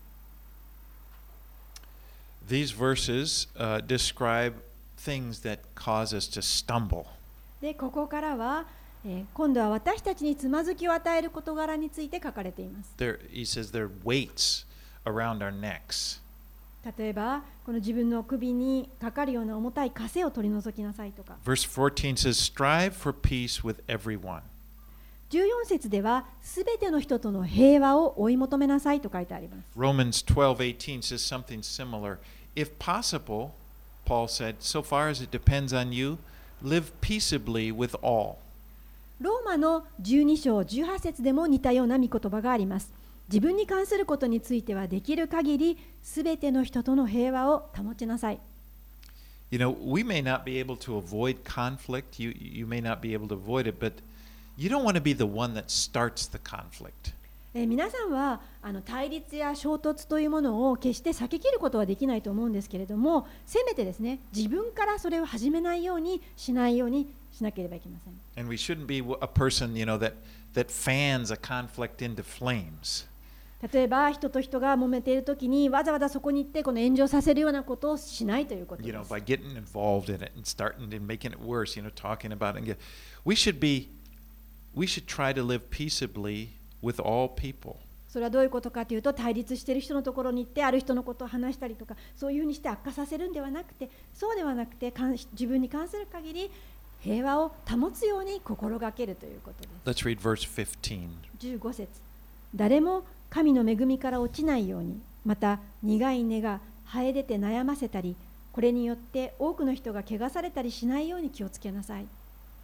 These verses uh, describe things that cause us to stumble. で、ここからは、えー今度は私たちにつまずきを与える事柄について書かれています。 There, he says there are weights around our necks. 例えば、この自分の首にかかるような重たい枷を取り除きなさいとか、 Verse fourteen says, Strive for peace with everyone. じゅうよん節では、すべての人との平和を追い求めなさいと書いてあります。 Romans twelve eighteen says something similar. If possible, Paul said, so far as it depends on you, live peaceably with all. ローマのじゅうに章じゅうはち節でも似たような御言葉があります。自分に関することについてはできる限り、すべての人との平和を保ちなさい。 You know, we may not be able to avoid conflict. You, you may not be able to avoid it, but you don't want to be the one that starts the conflict. えー皆さんはあの対立や衝突というものを決して避けきることはできないと思うんですけれども、せめてですね、自分からそれを始めないようにしないようにしなければいけません。 And we shouldn't be a person, you know, that, that fans a conflict into flames. 例えば人と人が揉めているときにわざわざそこに行ってこの炎上させるようなことをしないということ You で know, す。 by getting involved in it and starting and making it worse, you know, talking about it. And get, we should be, we should try to live peaceably with all people. それはどういうことかというと、対立している人のところに行ってある人のことを話したりとか、そういうふうにして悪化させるんではなくて、そうではなくてかん自分に関する限り平和を保つように心がけるということです。 Let's read verse fifteen. じゅうご節、誰も神の恵みから落ちないように、また苦い根が生え出て悩ませたり、これによって多くの人が汚されたりしないように気をつけなさい。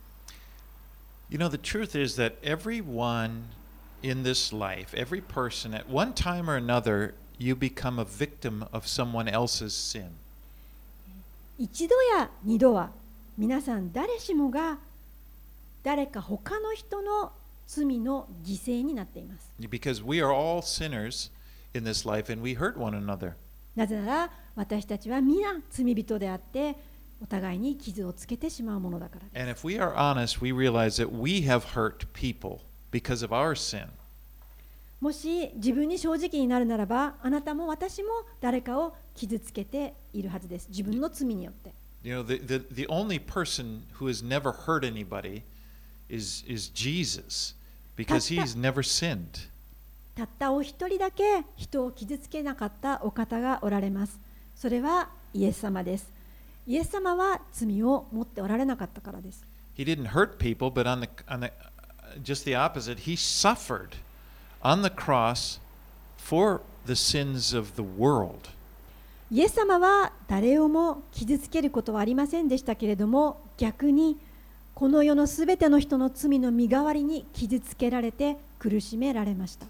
You know, the truth is that everyone in this life, every person, at one time or another, you become a victim of someone else's sin. 一度や二度は皆さん誰しもが誰か他の人の罪の犠牲になっています。 Because we are all sinners in this life and we hurt one another. なぜなら私たちは皆罪人であってお互いに傷をつけてしまうものだからです。 And if we are honest, we realize that we have hurt people because of our sin. もし自分に正直になるならば、あなたも私も誰かを傷つけているはずです。自分の罪によって。 You know, the, the, the only person who has never hurt anybody is, is Jesus because he's never sinned. たったお一人だけ人を傷つけなかったお方がおられます。それはイエス様です。イエス様は罪を持っておられなかったからです。 He didn't hurt people, but on the, on the, just the opposite, he suffered on the cross for the sins of the world. イエス様は誰をも傷つけることはありませんでしたけれども、逆にこの世のすべての人の罪の身代わりに傷つけられて苦しめられました。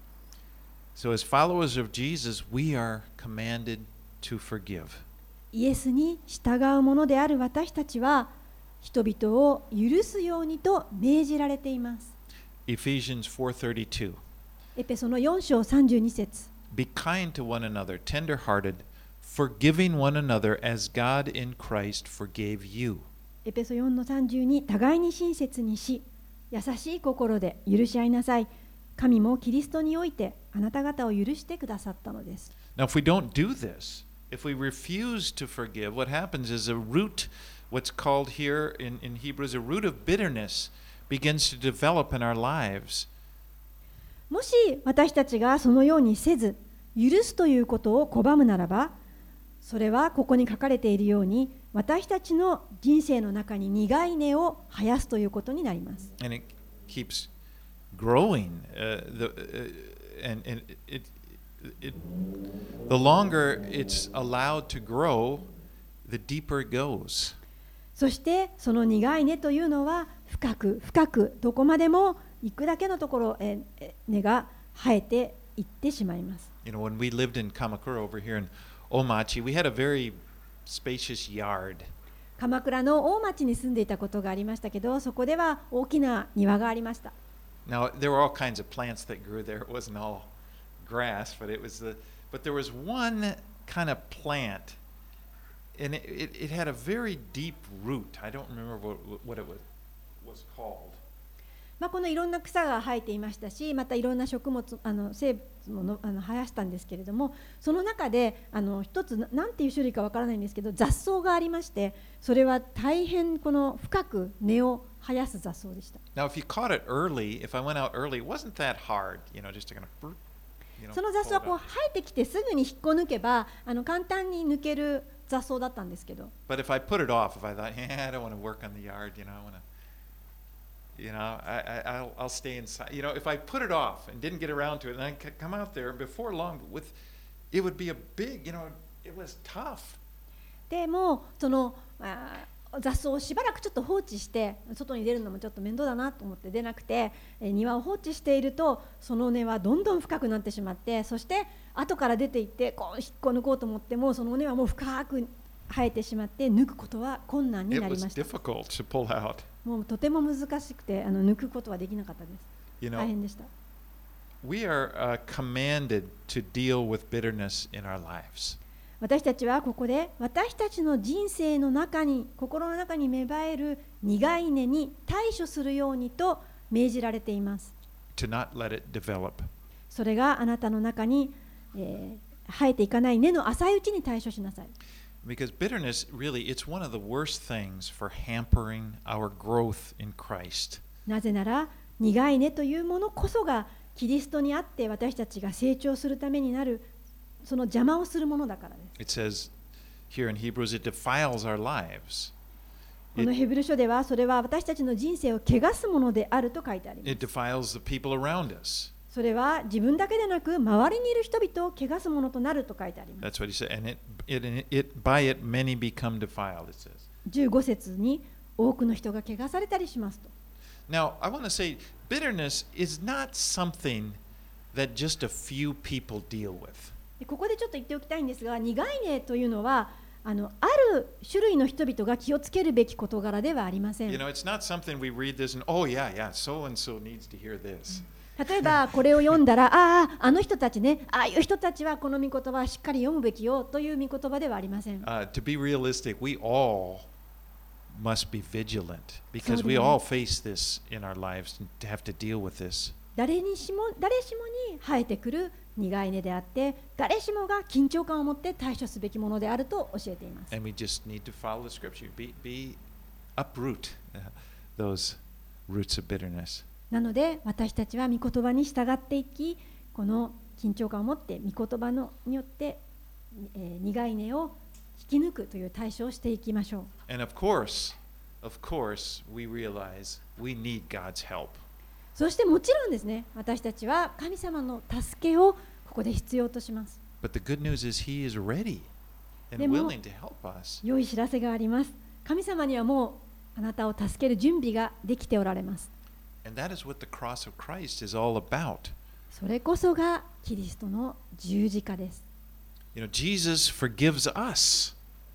So, as followers of Jesus, we are commanded to forgive. イエスに従う者である私たちは人々を許すようにと命じられています。 Ephesians four thirty-two. エペソのよん章さんじゅうに節。 Be kind to one another, tender-hearted, forgiving one another as God in Christ forgave you. エペソよんのさんじゅうに、互いに親切にし、優しい心で許し合いなさい。神もキリストにおいてあなた方を許してくださったのです。 Now, if we don't do this, if we refuse to forgive, what happens is a root, what's called here in, in Hebrews, a root of bitterness begins to develop in our lives. もし私たちがそのようにせず、許すということを拒むならば、それはここに書かれているように、私たちの人生の中に苦い根を生やすということになります。 And it keeps growing. Uh, the, uh, and and it, it, the longer it's allowed to grow, the deeper it goes. そしてその苦い根というのは深く深くどこまでも行くだけのところえ根が生えていってしまいます。 You know, when we lived in Kamakura over here in Omachi, we had a very spacious yard. 鎌倉の大町に住んでいたことがありましたけど、そこでは大きな庭がありました。 Now there were all kinds of plants that grew there. It wasn't all grass, but it was the but there was one kind of plant. and it, it, it had a very deep root. I don't remember what, what it was, was called. まあ、このいろんな草が生えていましたし、またいろんな食物、あの生物ものあの生やしたんですけれども、その中であの一つ何ていう種類かわからないんですけど、雑草がありまして、それは大変この深く根を生やす雑草でした。 Now, if you caught it early, if I went out early, it wasn't that hard, you know, just to kind of, you know, その雑草は pull こう it 生えてきてすぐに引っこ抜けば、あの簡単に抜ける雑草だったんですけど。 out. But if I put it off, if I thought, yeah, I don't want to work on the yard, you know, I want to, you know, I, I, I'll, I'll stay inside. You know, if I put it off and didn't get around to it, and I could come out there before long, with, it would be a big, you know, it was tough. でもそのあ雑草をしばらくちょっと放置して外に出るのもちょっと面倒だなと思って出なくて、え庭を放置しているとその根はどんどん深くなってしまって、そして後から出ていってこう引っこ抜こうと思ってもその根はもう深く生えてしまって抜くことは困難に It なり was ました。 difficult to pull out. もうとても難しくてあの抜くことはできなかったです。 You 大 know, 変でした。 we are uh, commanded to deal with bitterness in our lives. 私たちはここで私たちの人生の中に心の中に芽生える苦い根に対処するようにと命じられています。 To not let it develop. それがあなたの中に、えー、生えていかない根の浅いうちに対処しなさい。 Because bitterness, really, it's one of the worst things for hampering our growth in Christ. なぜなら苦い根というものこそがキリストにあって私たちが成長するためになるその邪魔をするものだからです。 It says here in Hebrews, it defiles our lives. このヘブル書ではそれは私たちの人生を汚すものであると書いてあります。 It defiles the people around us. それは自分だけでなく周りにいる人々を汚すものとなると書いてあります。 That's what he said. And it, it, it, by it, many become defiled, it says. じゅうご節に多くの人が汚されたりしますと。 Now, I want to say bitterness is not something that just a few people deal with. ここでちょっと言っておきたいんですが、苦い根というのはあのある種類の人々が気をつけるべき事柄ではありません。 You know, it's not something we read this and, oh, yeah, yeah, so and so needs to hear this. 例えばこれを読んだら、ああ、あの人たちね、ああいう人たちはこの御言葉をしっかり読むべきよという御言葉ではありません。 Uh, to be realistic, we all must be vigilant because we all face this in our lives and to have to deal with this. 誰にしも誰しもに生えてくる苦い根であって、誰しもが緊張感を持って対処すべきものであると教えています。 And we just need to follow the scripture, be, be uproot uh, those roots of bitterness. なので私たちは御言葉に従っていき、この緊張感を持って御言葉のによって、えー、苦い根を引き抜くという対処をしていきましょう。 And of course, of course, we realize we need God's help. そしてもちろんですね、私たちは神様の助けをここで必要とします。 But the good news is He is ready and でも willing to help us. 良い知らせがあります。神様にはもうあなたを助ける準備ができておられます。 And that is what the cross of Christ is all about. それこそがキリストの十字架です。 You know, Jesus forgives us.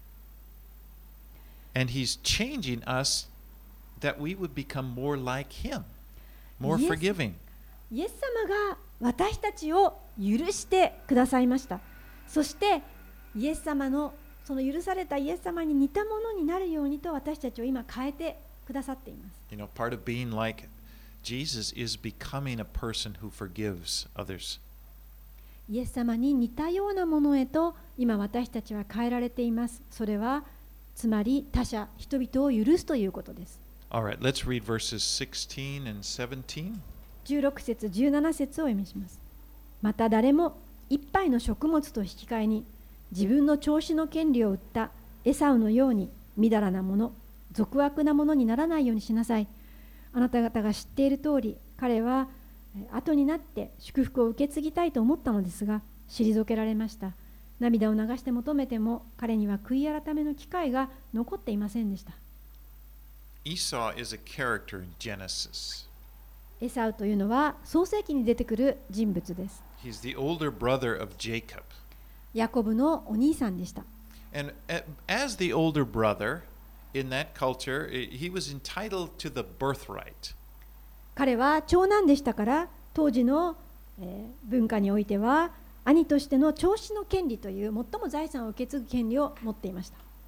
And He's changing us that we would become more like Him, more Yes. forgiving. イエス様が私たちを許してくださいました。そしてイエス様のその許されたイエス様に似たものになるようにと私たちを今変えてくださっています。 You know, part of being like Jesus is becoming a person who forgives others. イエス様に似たようなものへと今私たちは変えられています。それはつまり他者、人々を許すということです。 All right, let's read verses sixteen and seventeen. じゅうろく節、じゅうなな節をお読みします。また誰も一杯の食物と引き換えに自分の調子の権利を売ったエサウのようにみだらなもの、俗悪なものにならないようにしなさい。あなた方が知っている通り、彼は後になって祝福を受け継ぎたいと思ったのですが、退けられました。涙を流して求めても、彼には悔い改めの機会が残っていませんでした。 Esau is a character in Genesis. エサウというのは創世記に出てくる人物です。 He's the older brother of Jacob. ヤコブのお兄さんでした。 And as the older brother in that culture, he was entitled to the birthright. 彼は長男でしたから、当時の、えー、文化においては兄としての長子の権利という最も財産を受け継ぐ権利を持っていました。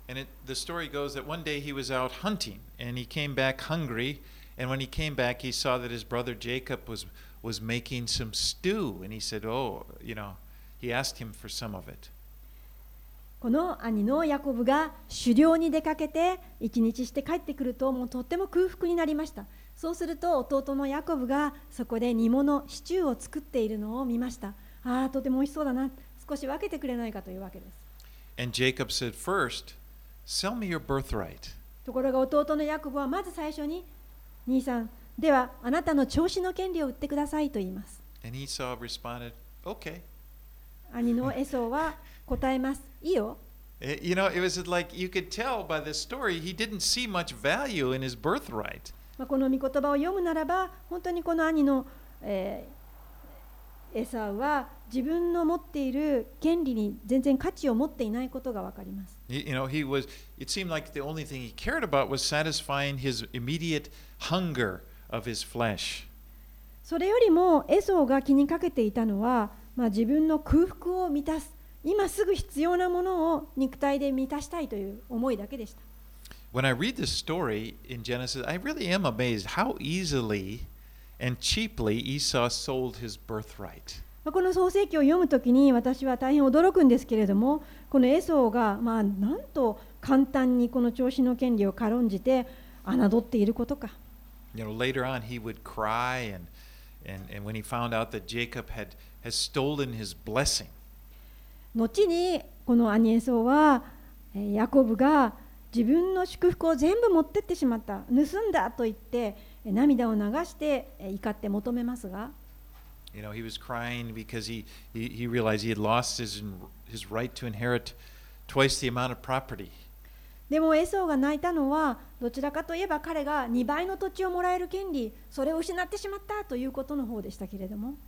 And it, the story goes that one day he was out hunting and he came back hungry. And when he came back, he saw that his brother Jacob was, was making some stew. And he said, oh, you know, he asked him for some of it. この兄のヤコブが狩猟に出かけて一日して帰ってくるともうとっても空腹になりました。そうすると弟のヤコブがそこで煮物シチューを作っているのを見ました。ああ、とても美味しそうだな。少し分けてくれないかというわけです。 And Jacob said, first, sell me your birthright. ところが弟のヤコブはまず最初に兄さん、ではあなたの調子の権利を売ってくださいと言います。 And Esau responded, okay. 兄のエソーは答えます。いいよ。 You know, it was like you could tell by this story, he didn't see much value in his birthright. この御言葉を読むならば、本当にこの兄の、えー、エサウは自分の持っている権利に全然価値を持っていないことがわかります。 You know, he was, it seemed like the only thing he cared about was satisfying his immediate hunger of his flesh. それよりもエソーが気にかけていたのは、まあ、自分の空腹を満たす、今すぐ必要なものを肉体で満たしたいという思いだけでした。 When I read this story in Genesis, I really am amazed how easily and cheaply Esau sold his birthright. この創世記を読むときに私は大変驚くんですけれども、このエソーが、まあ、なんと簡単にこの調子の権利を軽んじて侮っていることか。 You know, later on he would cry and, and, and when he found out that Jacob had, has stolen his blessing. 後にこの兄エソーはヤコブが自分の祝福を全部持ってってしまった、盗んだと言って涙を流して怒って求めますが、 You know, he was crying because he, he, he realized he had lost his, his right to inherit twice the amount of property. でもエソーが泣いたのはどちらかといえば彼がにばいの土地をもらえる権利、それを失ってしまったということの方でしたけれども。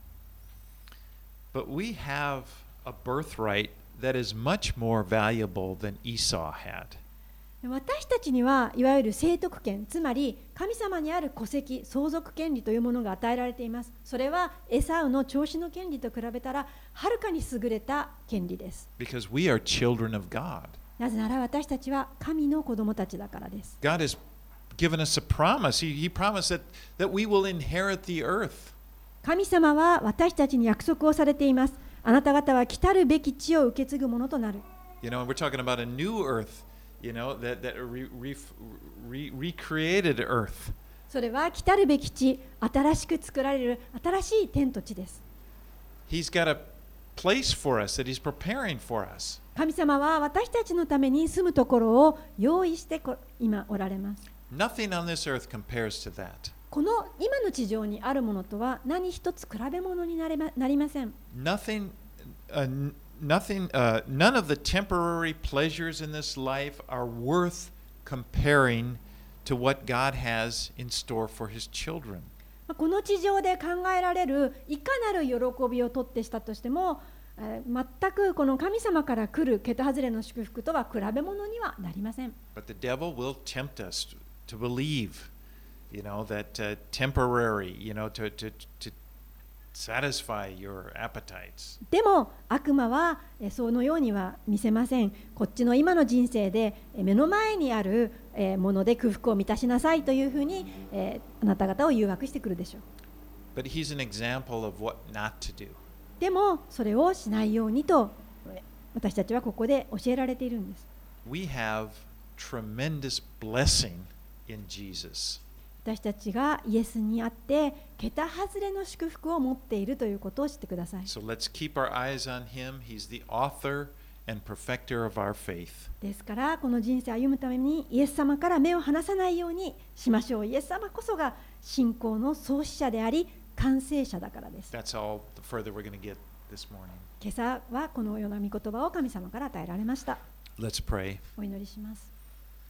But we have a birthright that is much more valuable than Esau had. 私たちにはいわゆる聖徳権、つまり神様にある戸籍、相続権利というものが与えられています。それはエサウの調子の権利と比べたらはるかに優れた権利です。 Because we are children of God. なぜなら私たちは神の子供たちだからです。 God has given us a promise. He, he promised that, that we will inherit the earth. 神様は私たちに約束をされています。あなた方は来たるべき地を受け継ぐものとなる。 You know, we're talking about a new earth, you know, that, that re, re, re, recreated earth. それは来たるべき地、新しく作られる新しい天と地です。 He's got a place for us that He's preparing for us. 神様は私たちのために住むところを用意して今おられます。 Nothing on this earth compares to that. この今の地上にあるものとは何一つ比べ物になれま、なりません。 Nothing, uh, nothing, uh, none of the temporary pleasures in this life are worth comparing to what God has in store for His children. この地上で考えられるいかなる喜びをとってしたとしても、全くこの神様から来る桁外れの祝福とは比べ物にはなりません。 But the devil will tempt us to believe, you know, that uh, temporary, you know, to, to, to satisfy your appetites. でも悪魔はそのようには見せません。こっちの今の人生で目の前にあるもので空腹を満たしなさいというふうにあなた方を誘惑してくるでしょう。 But he's an example of what not to do. でもそれをしないようにと私たちはここで教えられているんです。 We have tremendous blessing in Jesus. 私たちがイエスにあって桁外れの祝福を持っているということを知ってください。 So let's keep our eyes on him. He's the author and perfecter of our faith. ですからこの人生を歩むためにイエス様から目を離さないようにしましょう。イエス様こそが信仰の創始者であり完成者だからです。 That's all the further we're going to get this morning. 今朝はこのような御言葉を神様から与えられました。 Let's pray. お祈りします。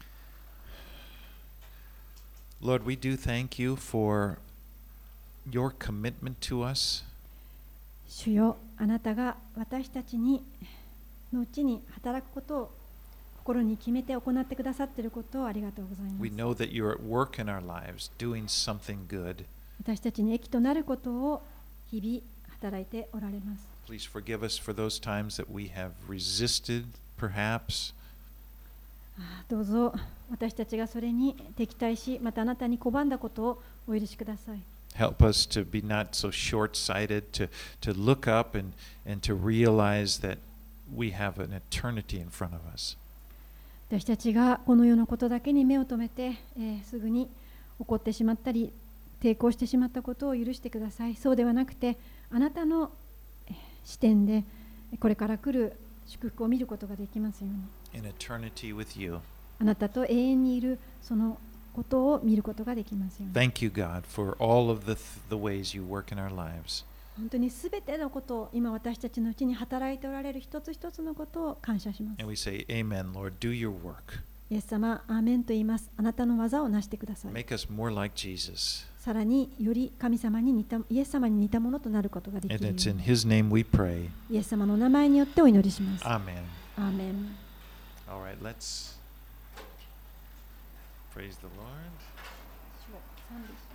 Lord, we do thank you for your commitment to us. 主よ、あなたが私たちにのうちに働くことを心に決めて行ってくださっていることをありがとうございます。 We know that you're at work in our lives, doing something good. 私たちに益となることを日々働いておられます。 Please forgive us for those times that we have resisted, perhaps. どうぞ私たちがそれに敵対し、またあなたに拒んだことをお許しください。 Help us to be not so short-sighted, to, to look up and, and to realize that we have an eternity in front of us. 私たちがこの世のことだけに目を留めて、えー、すぐに怒ってしまったり抵抗してしまったことを許してください。そうではなくて、あなたの視点でこれから来る祝福を見ることができますように。 In eternity with you. あなたと永遠にいるそのことを見ることができますように。 Thank you, God, for all of the, the ways you work in our lives. 本当にすべてのことを今私たちのうちに働いておられる一つ一つのことを感謝します。 And we say, Amen, Lord, do your work. イエス様、アーメンと言います。あなたの技をなしてください。 Make us more like Jesus. さらにより神様に似た、イエス様に似たものとなることができ And るよう it's in に。 His name we pray. イエス様の名前によってお祈りします。 Amen. アーメン。 All right, let's praise the Lord. 賛美